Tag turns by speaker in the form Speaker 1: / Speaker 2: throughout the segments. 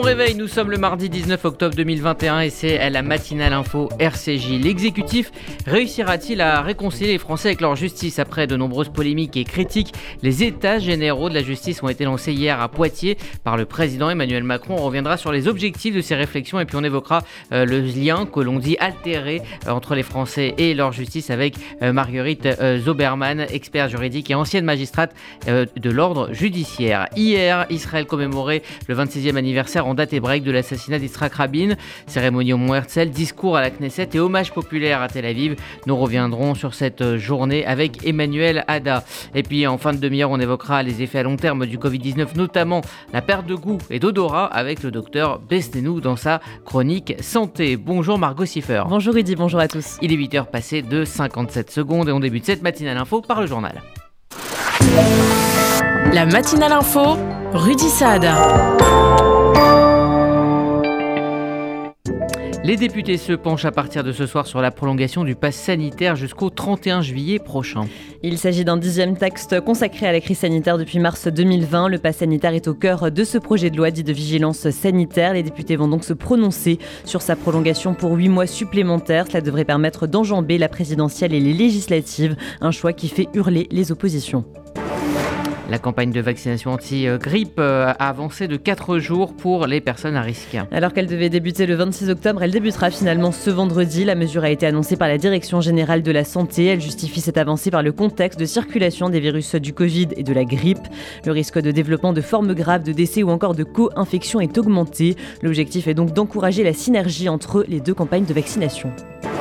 Speaker 1: réveil, nous sommes le mardi 19 octobre 2021 et c'est la matinale info RCJ. L'exécutif réussira-t-il à réconcilier les Français avec leur justice? Après de nombreuses polémiques et critiques, les états généraux de la justice ont été lancés hier à Poitiers par le président Emmanuel Macron. On reviendra sur les objectifs de ces réflexions et puis on évoquera le lien que l'on dit altéré entre les Français et leur justice avec Marguerite Zoberman, experte juridique et ancienne magistrate de l'ordre judiciaire. Hier, Israël commémorait le 26e anniversaire en date hébraïque de l'assassinat d'Yitzhak Rabin. Cérémonie au Mont Herzl, discours à la Knesset et hommage populaire à Tel Aviv. Nous reviendrons sur cette journée avec Emmanuel Ada. Et puis en fin de demi-heure, on évoquera les effets à long terme du Covid-19, notamment la perte de goût et d'odorat avec le docteur Bestenou dans sa chronique santé. Bonjour Margot Siffer.
Speaker 2: Bonjour Rudy, bonjour à tous.
Speaker 1: Il est 8h passé de 57 secondes et on débute cette matinale info par le journal.
Speaker 2: La matinale info, Rudy Saad.
Speaker 1: Les députés se penchent à partir de ce soir sur la prolongation du pass sanitaire jusqu'au 31 juillet prochain.
Speaker 2: Il s'agit d'un 10e texte consacré à la crise sanitaire depuis mars 2020. Le pass sanitaire est au cœur de ce projet de loi dit de vigilance sanitaire. Les députés vont donc se prononcer sur sa prolongation pour 8 mois supplémentaires. Cela devrait permettre d'enjamber la présidentielle et les législatives, un choix qui fait hurler les oppositions.
Speaker 1: La campagne de vaccination anti-grippe a avancé de 4 jours pour les personnes à risque.
Speaker 2: Alors qu'elle devait débuter le 26 octobre, elle débutera finalement ce vendredi. La mesure a été annoncée par la Direction générale de la santé. Elle justifie cette avancée par le contexte de circulation des virus du Covid et de la grippe. Le risque de développement de formes graves, de décès ou encore de co-infection est augmenté. L'objectif est donc d'encourager la synergie entre les deux campagnes de vaccination.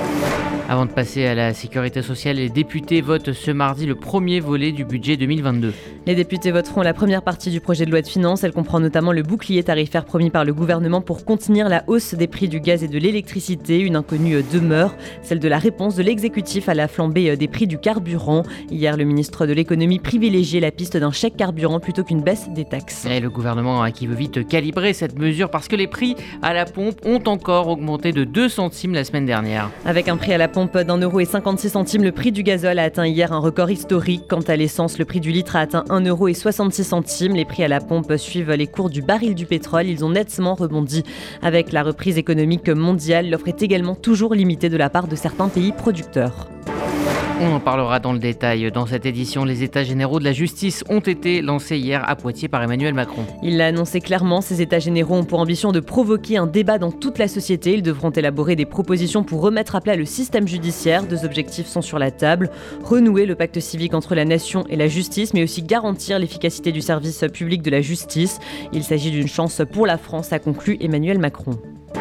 Speaker 1: Avant de passer à la sécurité sociale, les députés votent ce mardi le premier volet du budget 2022.
Speaker 2: Les députés voteront la première partie du projet de loi de finances. Elle comprend notamment le bouclier tarifaire promis par le gouvernement pour contenir la hausse des prix du gaz et de l'électricité. Une inconnue demeure, celle de la réponse de l'exécutif à la flambée des prix du carburant. Hier, le ministre de l'économie privilégiait la piste d'un chèque carburant plutôt qu'une baisse des taxes.
Speaker 1: Et le gouvernement qui veut vite calibrer cette mesure parce que les prix à la pompe ont encore augmenté de 2 centimes la semaine dernière.
Speaker 2: Avec un prix à la pompe d'1,56 €, le prix du gazole a atteint hier un record historique. Quant à l'essence, le prix du litre a atteint 1,66 €. Les prix à la pompe suivent les cours du baril du pétrole. Ils ont nettement rebondi avec la reprise économique mondiale. L'offre est également toujours limitée de la part de certains pays producteurs.
Speaker 1: On en parlera dans le détail. Dans cette édition, les états généraux de la justice ont été lancés hier à Poitiers par Emmanuel Macron.
Speaker 2: Il l'a annoncé clairement, ces états généraux ont pour ambition de provoquer un débat dans toute la société. Ils devront élaborer des propositions pour remettre à plat le système judiciaire. 2 objectifs sont sur la table. Renouer le pacte civique entre la nation et la justice, mais aussi garantir l'efficacité du service public de la justice. Il s'agit d'une chance pour la France, a conclu Emmanuel Macron.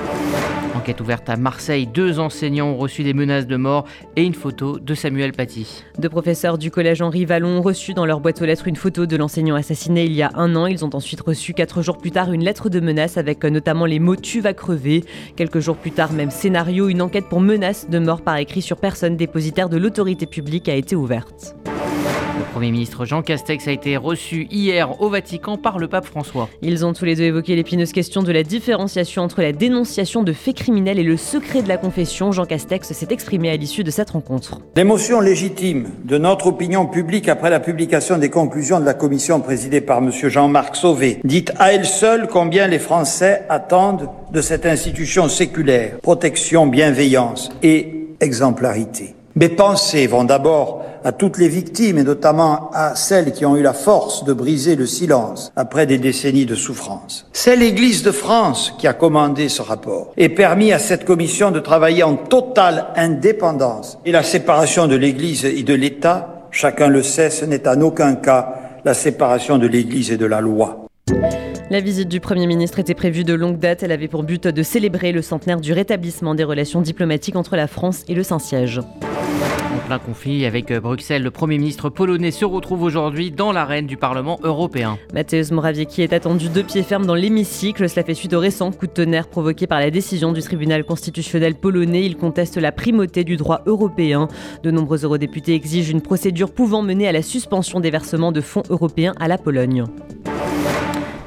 Speaker 1: Enquête ouverte à Marseille, 2 enseignants ont reçu des menaces de mort et une photo de Samuel Paty.
Speaker 2: 2 professeurs du collège Henri Vallon ont reçu dans leur boîte aux lettres une photo de l'enseignant assassiné il y a 1 an. Ils ont ensuite reçu 4 jours plus tard une lettre de menace avec notamment les mots « tu vas crever ». Quelques jours plus tard, même scénario, une enquête pour menace de mort par écrit sur personne dépositaire de l'autorité publique a été ouverte.
Speaker 1: Le Premier ministre Jean Castex a été reçu hier au Vatican par le pape François.
Speaker 2: Ils ont tous les deux évoqué l'épineuse question de la différenciation entre la dénonciation de faits criminels et le secret de la confession. Jean Castex s'est exprimé à l'issue de cette rencontre.
Speaker 3: L'émotion légitime de notre opinion publique après la publication des conclusions de la commission présidée par M. Jean-Marc Sauvé dit à elle seule combien les Français attendent de cette institution séculaire. Protection, bienveillance et exemplarité. Mes pensées vont d'abord à toutes les victimes et notamment à celles qui ont eu la force de briser le silence après des décennies de souffrance. C'est l'Église de France qui a commandé ce rapport et permis à cette commission de travailler en totale indépendance. Et la séparation de l'Église et de l'État, chacun le sait, ce n'est en aucun cas la séparation de l'Église et de la loi.
Speaker 2: La visite du Premier ministre était prévue de longue date. Elle avait pour but de célébrer le centenaire du rétablissement des relations diplomatiques entre la France et le Saint-Siège.
Speaker 1: En plein conflit avec Bruxelles, le Premier ministre polonais se retrouve aujourd'hui dans l'arène du Parlement européen.
Speaker 2: Mateusz Morawiecki est attendu de pied ferme dans l'hémicycle. Cela fait suite au récent coup de tonnerre provoqué par la décision du tribunal constitutionnel polonais. Il conteste la primauté du droit européen. De nombreux eurodéputés exigent une procédure pouvant mener à la suspension des versements de fonds européens à la Pologne.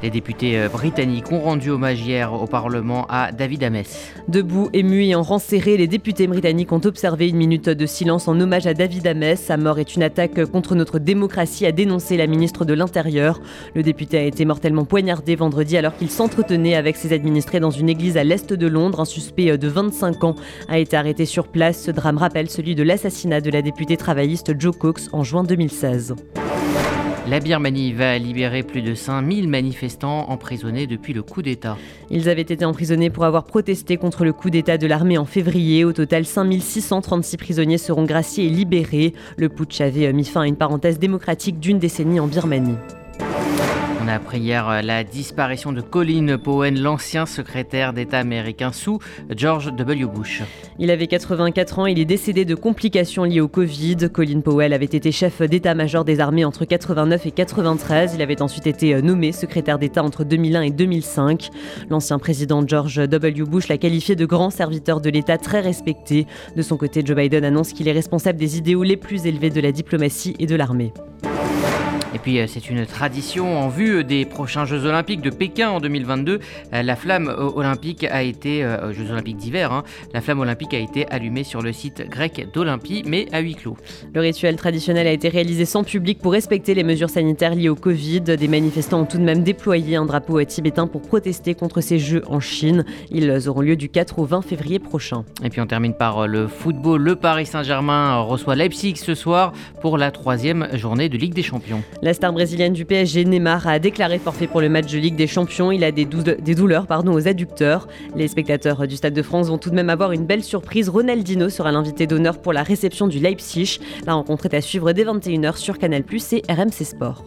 Speaker 1: Les députés britanniques ont rendu hommage hier au Parlement à David Ames.
Speaker 2: Debout, émus et en rang serré, les députés britanniques ont observé une minute de silence en hommage à David Ames. Sa mort est une attaque contre notre démocratie, a dénoncé la ministre de l'Intérieur. Le député a été mortellement poignardé vendredi alors qu'il s'entretenait avec ses administrés dans une église à l'est de Londres. Un suspect de 25 ans a été arrêté sur place. Ce drame rappelle celui de l'assassinat de la députée travailliste Jo Cox en juin 2016.
Speaker 1: La Birmanie va libérer plus de 5000 manifestants emprisonnés depuis le coup d'État.
Speaker 2: Ils avaient été emprisonnés pour avoir protesté contre le coup d'État de l'armée en février. Au total, 5636 prisonniers seront graciés et libérés. Le putsch avait mis fin à une parenthèse démocratique d'une décennie en Birmanie.
Speaker 1: On a appris hier la disparition de Colin Powell, l'ancien secrétaire d'État américain sous George W. Bush.
Speaker 2: Il avait 84 ans, il est décédé de complications liées au Covid. Colin Powell avait été chef d'état-major des armées entre 89 et 93. Il avait ensuite été nommé secrétaire d'État entre 2001 et 2005. L'ancien président George W. Bush l'a qualifié de grand serviteur de l'État très respecté. De son côté, Joe Biden annonce qu'il est responsable des idéaux les plus élevés de la diplomatie et de l'armée.
Speaker 1: Et puis c'est une tradition en vue des prochains Jeux Olympiques de Pékin en 2022. La flamme olympique a été, Jeux Olympiques d'hiver, la flamme olympique a été allumée sur le site grec d'Olympie, mais à huis clos.
Speaker 2: Le rituel traditionnel a été réalisé sans public pour respecter les mesures sanitaires liées au Covid. Des manifestants ont tout de même déployé un drapeau tibétain pour protester contre ces Jeux en Chine. Ils auront lieu du 4 au 20 février prochain.
Speaker 1: Et puis on termine par le football. Le Paris Saint-Germain reçoit Leipzig ce soir pour la 3e journée de Ligue des Champions.
Speaker 2: La star brésilienne du PSG, Neymar, a déclaré forfait pour le match de Ligue des Champions. Il a des douleurs aux adducteurs. Les spectateurs du Stade de France vont tout de même avoir une belle surprise. Ronaldinho sera l'invité d'honneur pour la réception du Leipzig. La rencontre est à suivre dès 21h sur Canal+ et RMC Sport.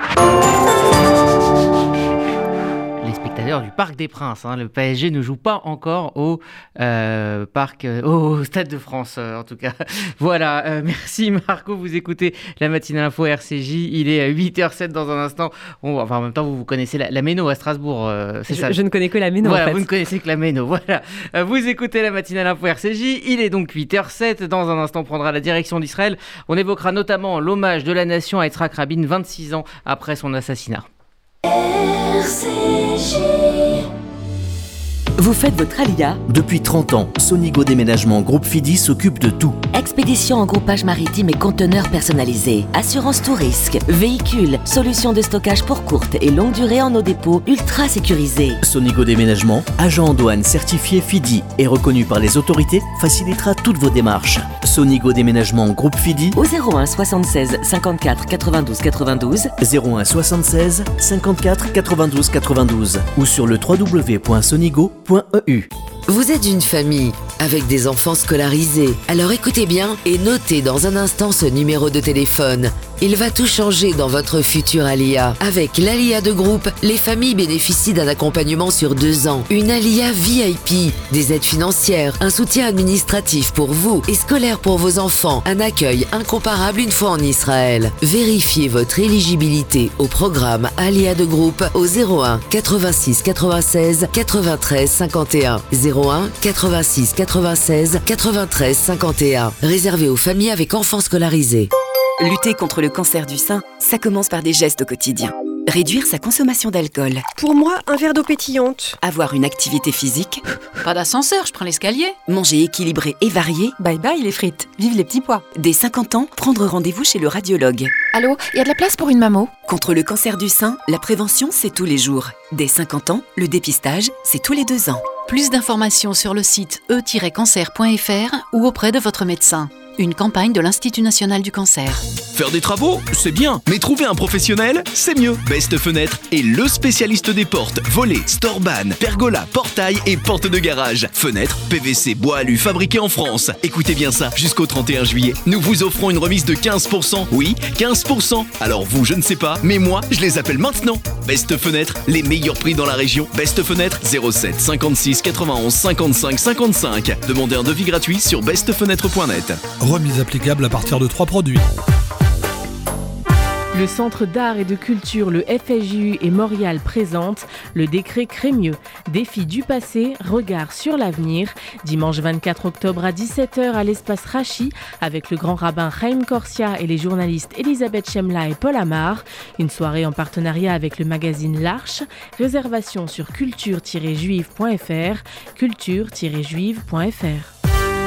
Speaker 1: Les spectateurs du Parc des Princes. Le PSG ne joue pas encore au Stade de France, en tout cas. Voilà, merci Marco, vous écoutez la matinale info RCJ. Il est à 8h07 dans un instant. En même temps, vous connaissez la Méno à Strasbourg, c'est ça.
Speaker 2: Je ne connais que la Méno,
Speaker 1: voilà,
Speaker 2: en fait.
Speaker 1: Vous ne connaissez que la Méno, voilà. Vous écoutez la matinale info RCJ. Il est donc 8h07. Dans un instant, on prendra la direction d'Israël. On évoquera notamment l'hommage de la nation à Yitzhak Rabin, 26 ans après son assassinat.
Speaker 4: RCJ.
Speaker 5: Vous faites votre alia ?
Speaker 6: Depuis 30 ans, Sonigo Déménagement Groupe Fidi s'occupe de tout.
Speaker 5: Expédition en groupage maritime et conteneurs personnalisés, assurance tout risque, véhicules, solutions de stockage pour courte et longue durée en nos dépôts ultra sécurisés.
Speaker 6: Sonigo Déménagement, agent en douane certifié Fidi et reconnu par les autorités, facilitera toutes vos démarches. Sonigo Déménagement Groupe Fidi
Speaker 5: au 01 76 54 92 92,
Speaker 6: 01 76 54 92 92 ou sur le www.sonigo.eu.
Speaker 7: Vous êtes une famille avec des enfants scolarisés. Alors écoutez bien et notez dans un instant ce numéro de téléphone. Il va tout changer dans votre futur Alia. Avec l'Alia de groupe, les familles bénéficient d'un accompagnement sur 2 ans. Une Alia VIP, des aides financières, un soutien administratif pour vous et scolaire pour vos enfants, un accueil incomparable une fois en Israël. Vérifiez votre éligibilité au programme Alia de groupe au 01 86 96 93 51. 01 86 96 93 51. Réservé aux familles avec enfants scolarisés.
Speaker 8: Lutter contre le cancer du sein, ça commence par des gestes au quotidien. Réduire sa consommation d'alcool.
Speaker 9: Pour moi, un verre d'eau pétillante.
Speaker 8: Avoir une activité physique.
Speaker 10: Pas d'ascenseur, je prends l'escalier.
Speaker 8: Manger équilibré et varié.
Speaker 10: Bye bye les frites, vive les petits pois.
Speaker 8: Dès 50 ans, prendre rendez-vous chez le radiologue.
Speaker 10: Allô, il y a de la place pour une mammo ?
Speaker 8: Contre le cancer du sein, la prévention, c'est tous les jours. Dès 50 ans, le dépistage, c'est tous les 2 ans.
Speaker 10: Plus d'informations sur le site e-cancer.fr ou auprès de votre médecin. Une campagne de l'Institut National du Cancer.
Speaker 11: Faire des travaux, c'est bien, mais trouver un professionnel, c'est mieux. Best Fenêtre est le spécialiste des portes, volets, storban, pergola, portail et portes de garage. Fenêtres, PVC, bois alu fabriqués en France. Écoutez bien ça, jusqu'au 31 juillet, nous vous offrons une remise de 15%. Oui, 15%. Alors vous, je ne sais pas, mais moi, je les appelle maintenant. Best Fenêtre, les meilleurs prix dans la région. Best Fenêtre, 07 56 91 55 55. Demandez un devis gratuit sur bestfenêtre.net.
Speaker 12: Remise applicable à partir de 3 produits.
Speaker 4: Le Centre d'art et de culture, le FSJU et Montréal présentent le décret Crémieux. Défi du passé, regard sur l'avenir. Dimanche 24 octobre à 17h à l'espace Rachi avec le grand rabbin Chaim Corsia et les journalistes Elisabeth Chemla et Paul Amar. Une soirée en partenariat avec le magazine L'Arche. Réservation sur culture-juive.fr, culture-juive.fr.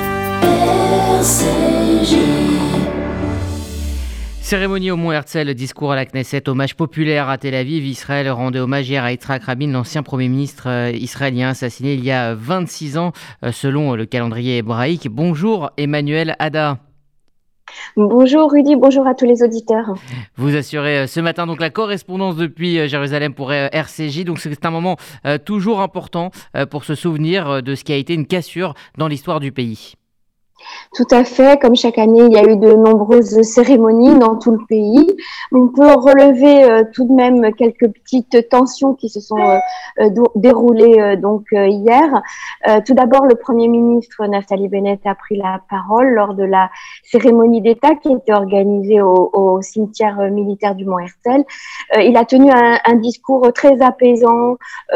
Speaker 1: Cérémonie au Mont Herzl, discours à la Knesset, hommage populaire à Tel Aviv. Israël rendait hommage hier à Yitzhak Rabin, l'ancien Premier ministre israélien assassiné il y a 26 ans selon le calendrier hébraïque. Bonjour Emmanuel Ada.
Speaker 12: Bonjour Rudy, bonjour à tous les auditeurs.
Speaker 1: Vous assurez ce matin donc la correspondance depuis Jérusalem pour RCJ, donc c'est un moment toujours important pour se souvenir de ce qui a été une cassure dans l'histoire du pays.
Speaker 12: Tout à fait, comme chaque année, il y a eu de nombreuses cérémonies dans tout le pays. On peut relever tout de même quelques petites tensions qui se sont déroulées hier. Tout d'abord, le Premier ministre Naftali Bennett a pris la parole lors de la cérémonie d'État qui était organisée au cimetière militaire du Mont Herzl. Il a tenu un discours très apaisant.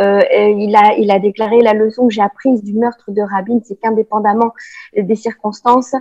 Speaker 12: Il a déclaré: la leçon que j'ai apprise du meurtre de Rabin, c'est qu'indépendamment des circonstances,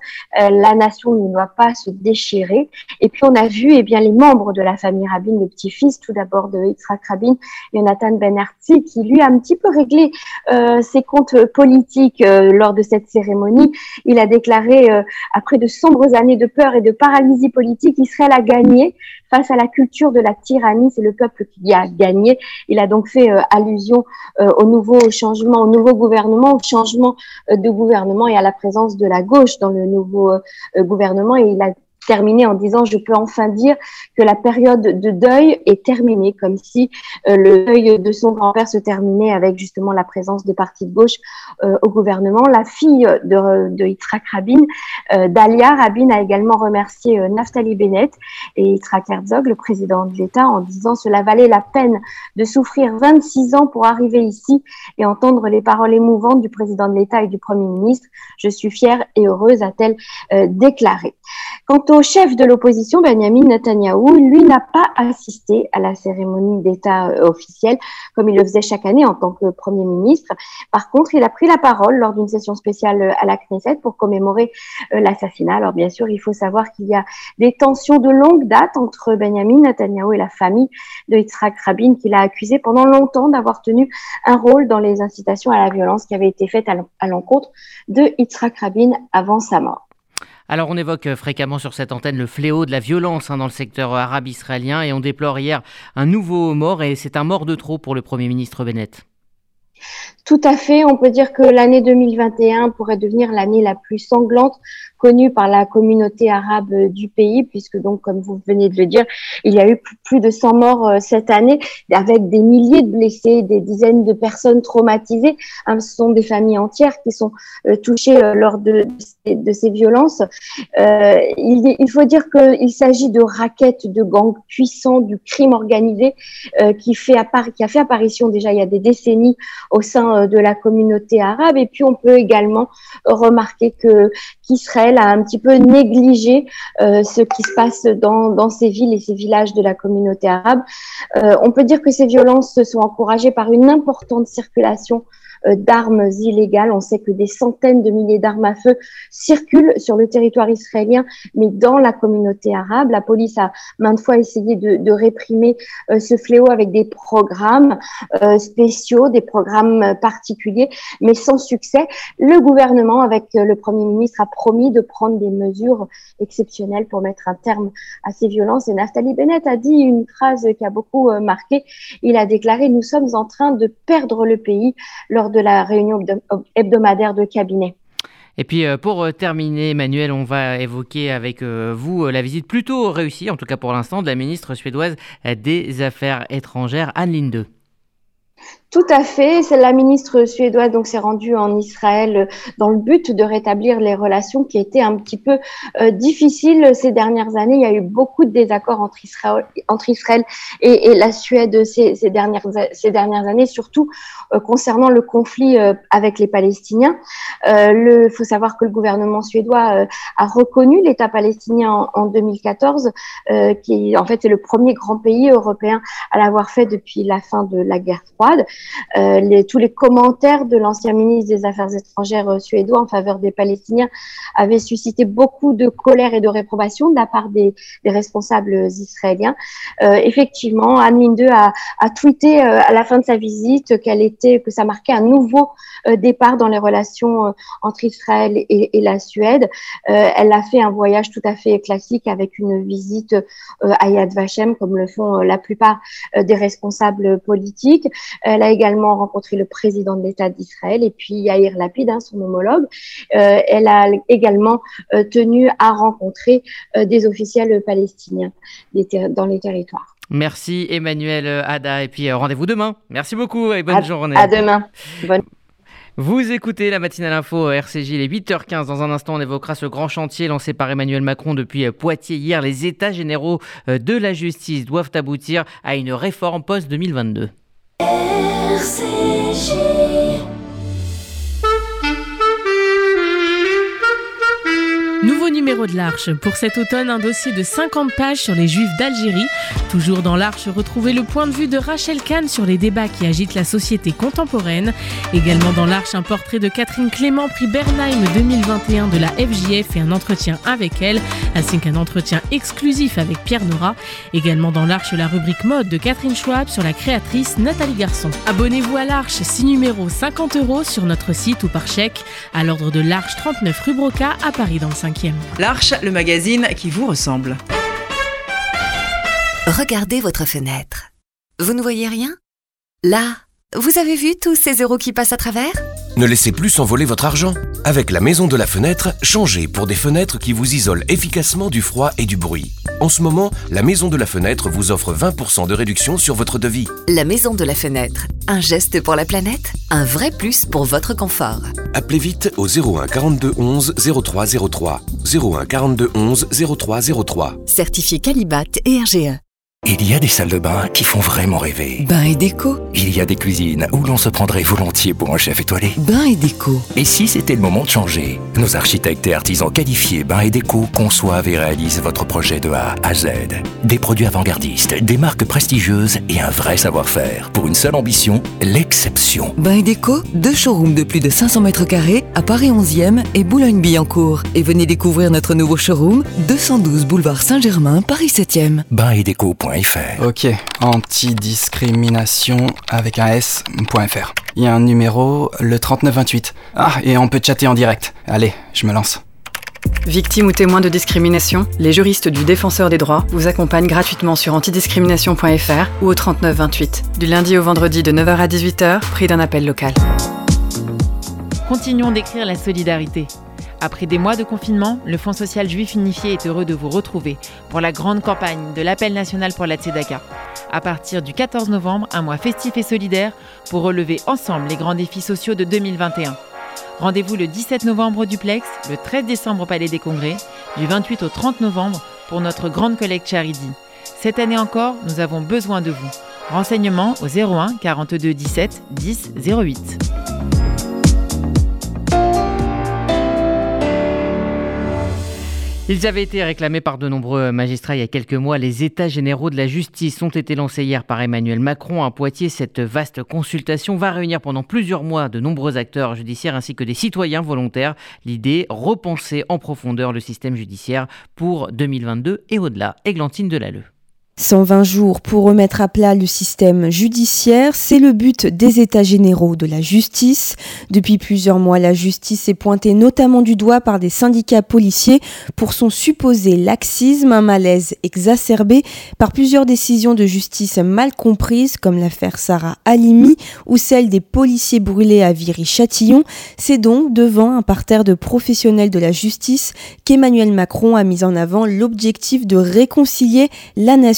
Speaker 12: la nation ne doit pas se déchirer. Et puis on a vu les membres de la famille Rabin, le petit-fils tout d'abord de Yitzhak Rabin, Yonatan Ben Artzi, qui lui a un petit peu réglé ses comptes politiques lors de cette cérémonie. Il a déclaré après de sombres années de peur et de paralysie politique, Israël a gagné face à la culture de la tyrannie, c'est le peuple qui a gagné. Il a donc fait allusion au nouveau changement, au nouveau gouvernement, au changement de gouvernement et à la présence de la gauche dans le nouveau gouvernement. Et il a terminé en disant: je peux enfin dire que la période de deuil est terminée, comme si le deuil de son grand-père se terminait avec justement la présence de partis de gauche au gouvernement. La fille de Yitzhak Rabin, Dalia Rabin, a également remercié Naftali Bennett et Yitzhak Herzog, le président de l'État, en disant: cela valait la peine de souffrir 26 ans pour arriver ici et entendre les paroles émouvantes du président de l'État et du Premier ministre. Je suis fière et heureuse, a-t-elle déclaré. Quant au chef de l'opposition, Benjamin Netanyahou, lui n'a pas assisté à la cérémonie d'État officielle comme il le faisait chaque année en tant que Premier ministre. Par contre, il a pris la parole lors d'une session spéciale à la Knesset pour commémorer l'assassinat. Alors bien sûr, il faut savoir qu'il y a des tensions de longue date entre Benjamin Netanyahou et la famille de Yitzhak Rabin, qu'il a accusé pendant longtemps d'avoir tenu un rôle dans les incitations à la violence qui avaient été faites à l'encontre de Yitzhak Rabin avant sa mort.
Speaker 1: Alors on évoque fréquemment sur cette antenne le fléau de la violence dans le secteur arabe israélien et on déplore hier un nouveau mort et c'est un mort de trop pour le Premier ministre Bennett.
Speaker 12: Tout à fait, on peut dire que l'année 2021 pourrait devenir l'année la plus sanglante connue par la communauté arabe du pays, puisque donc, comme vous venez de le dire, il y a eu plus de 100 morts cette année, avec des milliers de blessés, des dizaines de personnes traumatisées. Ce sont des familles entières qui sont touchées lors de ces violences. Il faut dire qu'il s'agit de raquettes, de gangs puissants, du crime organisé qui a fait apparition déjà il y a des décennies au sein de la communauté arabe. Et puis on peut également remarquer qu'Israël a un petit peu négligé ce qui se passe dans ces villes et ces villages de la communauté arabe. On peut dire que ces violences sont encouragées par une importante circulation d'armes illégales. On sait que des centaines de milliers d'armes à feu circulent sur le territoire israélien, mais dans la communauté arabe. La police a maintes fois essayé de réprimer ce fléau avec des programmes spéciaux, des programmes particuliers, mais sans succès. Le gouvernement, avec le Premier ministre, a promis de prendre des mesures exceptionnelles pour mettre un terme à ces violences. Et Naftali Bennett a dit une phrase qui a beaucoup marqué. Il a déclaré: nous sommes en train de perdre le pays lors de la réunion hebdomadaire de cabinet.
Speaker 1: Et puis pour terminer, Emmanuel, on va évoquer avec vous la visite plutôt réussie, en tout cas pour l'instant, de la ministre suédoise des Affaires étrangères, Ann Linde.
Speaker 12: Tout à fait. C'est la ministre suédoise donc s'est rendue en Israël dans le but de rétablir les relations qui étaient un petit peu difficiles ces dernières années. Il y a eu beaucoup de désaccords entre Israël et la Suède ces dernières années, surtout concernant le conflit avec les Palestiniens. Faut savoir que le gouvernement suédois a reconnu l'État palestinien en 2014, qui en fait est le premier grand pays européen à l'avoir fait depuis la fin de la guerre froide. Tous les commentaires de l'ancien ministre des Affaires étrangères suédois en faveur des Palestiniens avaient suscité beaucoup de colère et de réprobation de la part des responsables israéliens. Effectivement, Anne Linde a tweeté à la fin de sa visite que ça marquait un nouveau départ dans les relations entre Israël et la Suède. Elle a fait un voyage tout à fait classique avec une visite à Yad Vashem, comme le font la plupart des responsables politiques. Elle a également rencontré le président de l'État d'Israël et puis Yair Lapid, son homologue. Elle a également tenu à rencontrer des officiels palestiniens dans les territoires.
Speaker 1: Merci Emmanuel Ada et puis rendez-vous demain. Merci beaucoup et bonne journée.
Speaker 12: À demain.
Speaker 1: Vous écoutez la matinale info RCJ, il est 8h15. Dans un instant, on évoquera ce grand chantier lancé par Emmanuel Macron depuis Poitiers hier. Les états généraux de la justice doivent aboutir à une réforme post-2022. RCJ.
Speaker 4: Nouveau numéro de l'Arche. Pour cet automne, un dossier de 50 pages sur les Juifs d'Algérie. Toujours dans l'Arche, retrouvez le point de vue de Rachel Kahn sur les débats qui agitent la société contemporaine. Également dans l'Arche, un portrait de Catherine Clément, prix Bernheim 2021 de la FJF et un entretien avec elle, ainsi qu'un entretien exclusif avec Pierre Nora. Également dans l'Arche, la rubrique mode de Catherine Schwab sur la créatrice Nathalie Garçon. Abonnez-vous à l'Arche, 6 numéros, 50 € sur notre site ou par chèque, à l'ordre de l'Arche 39 rue Broca à Paris dans le 5e.
Speaker 13: L'Arche, le magazine qui vous ressemble.
Speaker 8: Regardez votre fenêtre. Vous ne voyez rien ? Là, vous avez vu tous ces euros qui passent à travers ?
Speaker 14: Ne laissez plus s'envoler votre argent. Avec la Maison de la Fenêtre, changez pour des fenêtres qui vous isolent efficacement du froid et du bruit. En ce moment, la Maison de la Fenêtre vous offre 20% de réduction sur votre devis.
Speaker 8: La Maison de la Fenêtre, un geste pour la planète, un vrai plus pour votre confort.
Speaker 14: Appelez vite au 01 42 11 03 03. 01 42 11 03 03.
Speaker 8: Certifié Qualibat et RGE.
Speaker 15: Il y a des salles de bain qui font vraiment rêver.
Speaker 8: Bain et déco.
Speaker 15: Il y a des cuisines où l'on se prendrait volontiers pour un chef étoilé.
Speaker 8: Bain et déco.
Speaker 15: Et si c'était le moment de changer ? Nos architectes et artisans qualifiés Bain et déco conçoivent et réalisent votre projet de A à Z. Des produits avant-gardistes, des marques prestigieuses et un vrai savoir-faire. Pour une seule ambition, l'exception.
Speaker 8: Bain et déco, 2 showrooms de plus de 500 mètres carrés à Paris 11e et Boulogne-Billancourt. Et venez découvrir notre nouveau showroom, 212 boulevard Saint-Germain, Paris 7e.
Speaker 15: Bainetdeco.fr.
Speaker 16: Ok, antidiscrimination avec un S.fr. Il y a un numéro, le 3928. Ah, et on peut chatter en direct. Allez, je me lance.
Speaker 17: Victime ou témoin de discrimination, les juristes du Défenseur des droits vous accompagnent gratuitement sur antidiscrimination.fr ou au 3928. Du lundi au vendredi de 9h à 18h, prix d'un appel local.
Speaker 4: Continuons d'écrire la solidarité. Après des mois de confinement, le Fonds social juif unifié est heureux de vous retrouver pour la grande campagne de l'appel national pour la Tzedaka. À partir du 14 novembre, un mois festif et solidaire pour relever ensemble les grands défis sociaux de 2021. Rendez-vous le 17 novembre au Duplex, le 13 décembre au Palais des Congrès, du 28 au 30 novembre pour notre grande collecte Charity. Cette année encore, nous avons besoin de vous. Renseignements au 01 42 17 10 08.
Speaker 1: Ils avaient été réclamés par de nombreux magistrats il y a quelques mois. Les états généraux de la justice ont été lancés hier par Emmanuel Macron à Poitiers. Cette vaste consultation va réunir pendant plusieurs mois de nombreux acteurs judiciaires ainsi que des citoyens volontaires. L'idée, repenser en profondeur le système judiciaire pour 2022 et au-delà. Églantine Delalleux.
Speaker 18: 120 jours pour remettre à plat le système judiciaire, c'est le but des états généraux de la justice. Depuis plusieurs mois, la justice est pointée notamment du doigt par des syndicats policiers pour son supposé laxisme, un malaise exacerbé par plusieurs décisions de justice mal comprises comme l'affaire Sarah Halimi ou celle des policiers brûlés à Viry-Châtillon. C'est donc devant un parterre de professionnels de la justice qu'Emmanuel Macron a mis en avant l'objectif de réconcilier la nation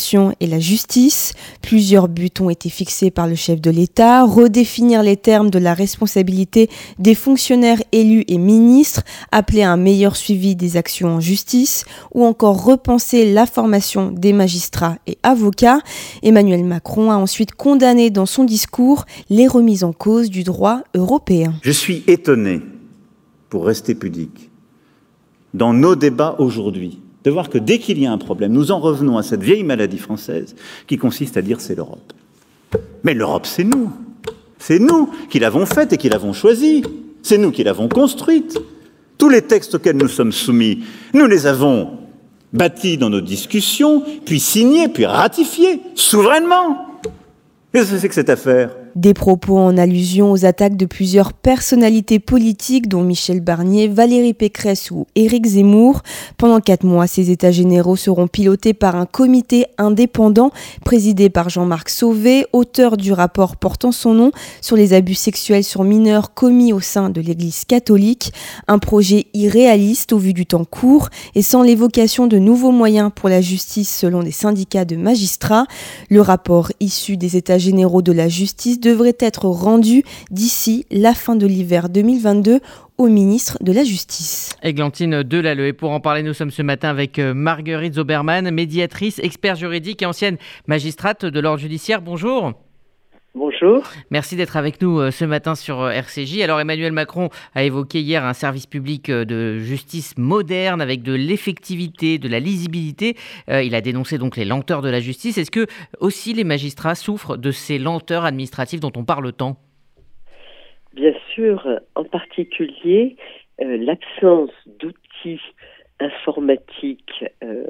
Speaker 18: l'administration et la justice. Plusieurs buts ont été fixés par le chef de l'État. Redéfinir les termes de la responsabilité des fonctionnaires élus et ministres, appeler à un meilleur suivi des actions en justice ou encore repenser la formation des magistrats et avocats. Emmanuel Macron a ensuite condamné dans son discours les remises en cause du droit européen.
Speaker 19: Je suis étonné, pour rester pudique, dans nos débats aujourd'hui, de voir que dès qu'il y a un problème, nous en revenons à cette vieille maladie française qui consiste à dire c'est l'Europe. Mais l'Europe, c'est nous. C'est nous qui l'avons faite et qui l'avons choisie. C'est nous qui l'avons construite. Tous les textes auxquels nous sommes soumis, nous les avons bâtis dans nos discussions, puis signés, puis ratifiés, souverainement. Qu'est-ce que c'est que cette affaire ?
Speaker 18: Des propos en allusion aux attaques de plusieurs personnalités politiques, dont Michel Barnier, Valérie Pécresse ou Éric Zemmour. Pendant 4 mois, ces états généraux seront pilotés par un comité indépendant présidé par Jean-Marc Sauvé, auteur du rapport portant son nom sur les abus sexuels sur mineurs commis au sein de l'Église catholique. Un projet irréaliste au vu du temps court et sans l'évocation de nouveaux moyens pour la justice selon des syndicats de magistrats. Le rapport issu des états généraux de la justice devrait être rendu d'ici la fin de l'hiver 2022 au ministre de la Justice.
Speaker 1: Églantine Delalleux. Et pour en parler, nous sommes ce matin avec Marguerite Zoberman, médiatrice, expert juridique et ancienne magistrate de l'ordre judiciaire. Bonjour.
Speaker 20: Bonjour.
Speaker 1: Merci d'être avec nous ce matin sur RCJ. Alors Emmanuel Macron a évoqué hier un service public de justice moderne avec de l'effectivité, de la lisibilité. Il a dénoncé donc les lenteurs de la justice. Est-ce que aussi les magistrats souffrent de ces lenteurs administratives dont on parle tant ?
Speaker 20: Bien sûr, en particulier l'absence d'outils informatiques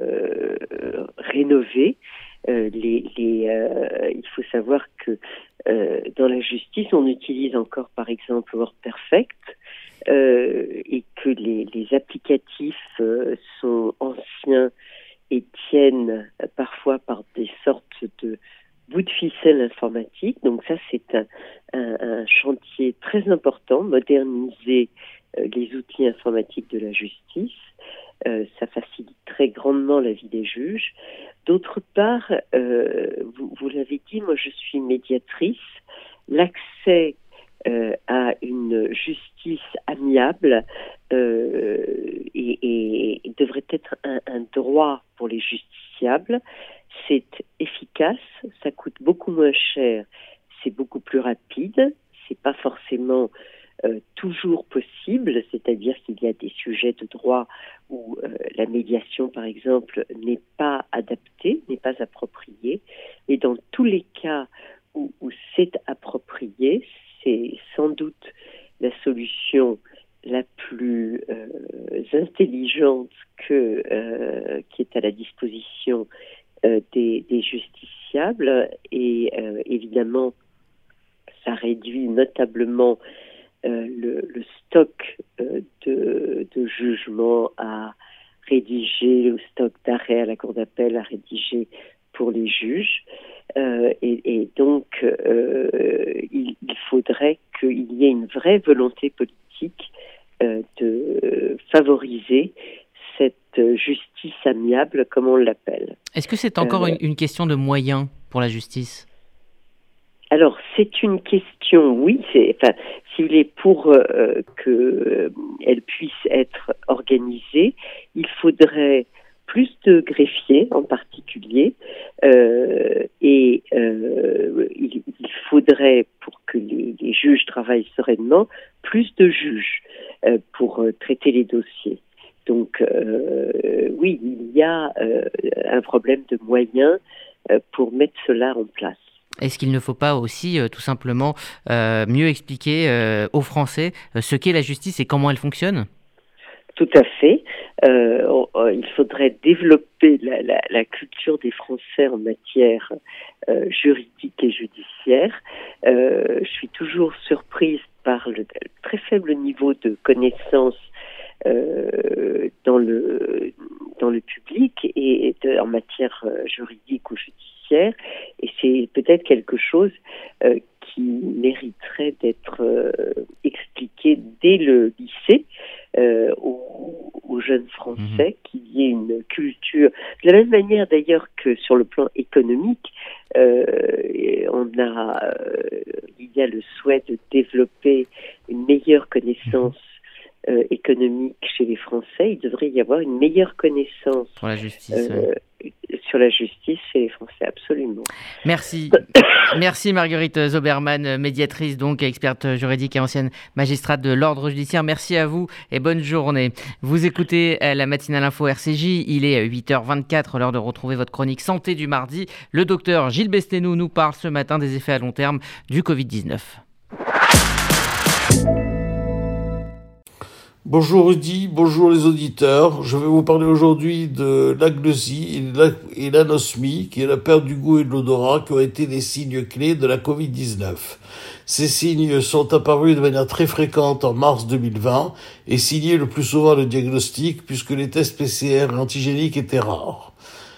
Speaker 20: rénovés. Il faut savoir que dans la justice, on utilise encore par exemple WordPerfect et que les applicatifs sont anciens et tiennent parfois par des sortes de bouts de ficelle informatiques. Donc ça, c'est un chantier très important, moderniser les outils informatiques de la justice. Ça facilite très grandement la vie des juges. D'autre part, vous l'avez dit, moi je suis médiatrice. L'accès à une justice amiable et devrait être un droit pour les justiciables. C'est efficace, ça coûte beaucoup moins cher, c'est beaucoup plus rapide, c'est pas forcément toujours possible, c'est-à-dire qu'il y a des sujets de droit où la médiation, par exemple, n'est pas adaptée, n'est pas appropriée. Et dans tous les cas où c'est approprié, c'est sans doute la solution la plus intelligente qui est à la disposition des justiciables. Et évidemment, ça réduit notablement le stock de jugements à rédiger, le stock d'arrêt à la cour d'appel à rédiger pour les juges. Et donc, il faudrait qu'il y ait une vraie volonté politique de favoriser cette justice amiable, comme on l'appelle.
Speaker 1: Est-ce que c'est encore une question de moyens pour la justice ?
Speaker 20: Alors, c'est une question, oui, si vous voulez, pour qu'elle puisse être organisée, il faudrait plus de greffiers en particulier, et il faudrait, pour que les juges travaillent sereinement, plus de juges pour traiter les dossiers. Donc, oui, il y a un problème de moyens pour mettre cela en place.
Speaker 1: Est-ce qu'il ne faut pas aussi tout simplement mieux expliquer aux Français ce qu'est la justice et comment elle fonctionne ?
Speaker 20: Tout à fait. Il faudrait développer la culture des Français en matière juridique et judiciaire. Je suis toujours surprise par le très faible niveau de connaissance dans le public et en matière juridique ou judiciaire, et c'est peut-être quelque chose qui mériterait d'être expliqué dès le lycée aux jeunes Français, qu'il y ait une culture. De la même manière d'ailleurs que sur le plan économique, il y a le souhait de développer une meilleure connaissance économique chez les Français. Il devrait y avoir une meilleure connaissance
Speaker 1: sur la justice,
Speaker 20: chez les Français, absolument.
Speaker 1: Merci. Merci Marguerite Zoberman, médiatrice, donc experte juridique et ancienne magistrate de l'ordre judiciaire. Merci à vous et bonne journée. Vous écoutez la matinale info RCJ, il est 8h24, l'heure de retrouver votre chronique santé du mardi. Le docteur Gilles Bestenou nous parle ce matin des effets à long terme du Covid-19.
Speaker 21: Bonjour Rudy, bonjour les auditeurs. Je vais vous parler aujourd'hui de l'agnosie et l'anosmie, qui est la perte du goût et de l'odorat, qui ont été des signes clés de la Covid-19. Ces signes sont apparus de manière très fréquente en mars 2020 et signaient le plus souvent le diagnostic, puisque les tests PCR et antigéniques étaient rares.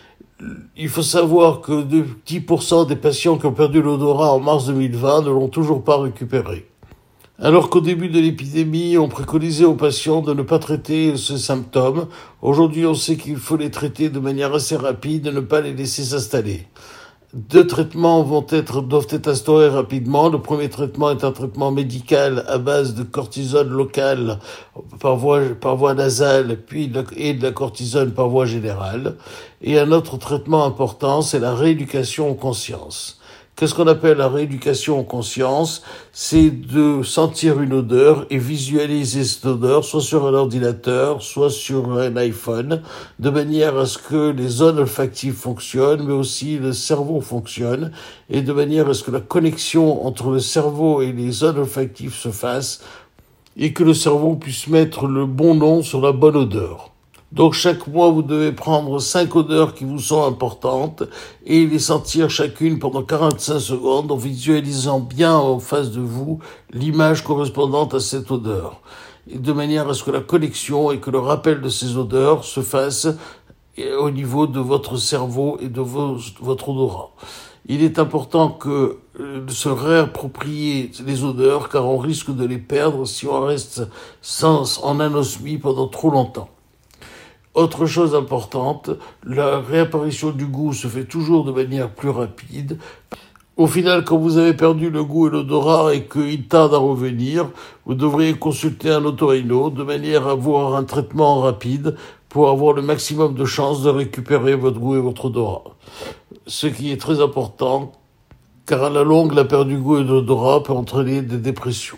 Speaker 21: Il faut savoir que 10% des patients qui ont perdu l'odorat en mars 2020 ne l'ont toujours pas récupéré. Alors qu'au début de l'épidémie, on préconisait aux patients de ne pas traiter ces symptômes, aujourd'hui on sait qu'il faut les traiter de manière assez rapide et ne pas les laisser s'installer. 2 traitements doivent être instaurés rapidement. Le premier traitement est un traitement médical à base de cortisone locale par voie nasale, et de la cortisone par voie générale. Et un autre traitement important, c'est la rééducation en conscience. Qu'est-ce qu'on appelle la rééducation en conscience? C'est de sentir une odeur et visualiser cette odeur, soit sur un ordinateur, soit sur un iPhone, de manière à ce que les zones olfactives fonctionnent, mais aussi le cerveau fonctionne, et de manière à ce que la connexion entre le cerveau et les zones olfactives se fasse, et que le cerveau puisse mettre le bon nom sur la bonne odeur. Donc chaque mois, vous devez prendre 5 odeurs qui vous sont importantes et les sentir chacune pendant 45 secondes en visualisant bien en face de vous l'image correspondante à cette odeur. Et de manière à ce que la connexion et que le rappel de ces odeurs se fasse au niveau de votre cerveau et de votre odorat. Il est important de se réapproprier les odeurs car on risque de les perdre si on reste en anosmie pendant trop longtemps. Autre chose importante, la réapparition du goût se fait toujours de manière plus rapide. Au final, quand vous avez perdu le goût et l'odorat et qu'il tarde à revenir, vous devriez consulter un otorino de manière à avoir un traitement rapide pour avoir le maximum de chances de récupérer votre goût et votre odorat. Ce qui est très important, car à la longue, la perte du goût et de l'odorat peut entraîner des dépressions.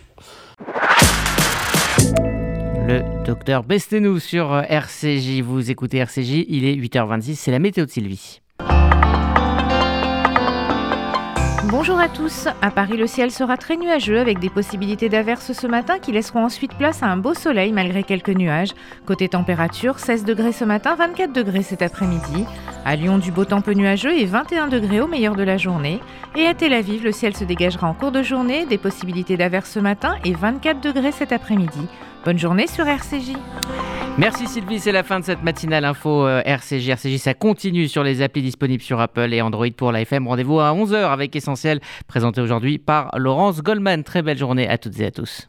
Speaker 1: Le docteur Bestenou sur RCJ. Vous écoutez RCJ, il est 8h26, c'est la météo de Sylvie.
Speaker 22: Bonjour à tous. À Paris, le ciel sera très nuageux avec des possibilités d'averses ce matin qui laisseront ensuite place à un beau soleil malgré quelques nuages. Côté température, 16 degrés ce matin, 24 degrés cet après-midi. À Lyon, du beau temps peu nuageux et 21 degrés au meilleur de la journée. Et à Tel Aviv, le ciel se dégagera en cours de journée, des possibilités d'averses ce matin et 24 degrés cet après-midi. Bonne journée sur RCJ.
Speaker 1: Merci Sylvie, c'est la fin de cette matinale info RCJ. RCJ, ça continue sur les applis disponibles sur Apple et Android pour la FM. Rendez-vous à 11h avec Essentiel, présenté aujourd'hui par Laurence Goldman. Très belle journée à toutes et à tous.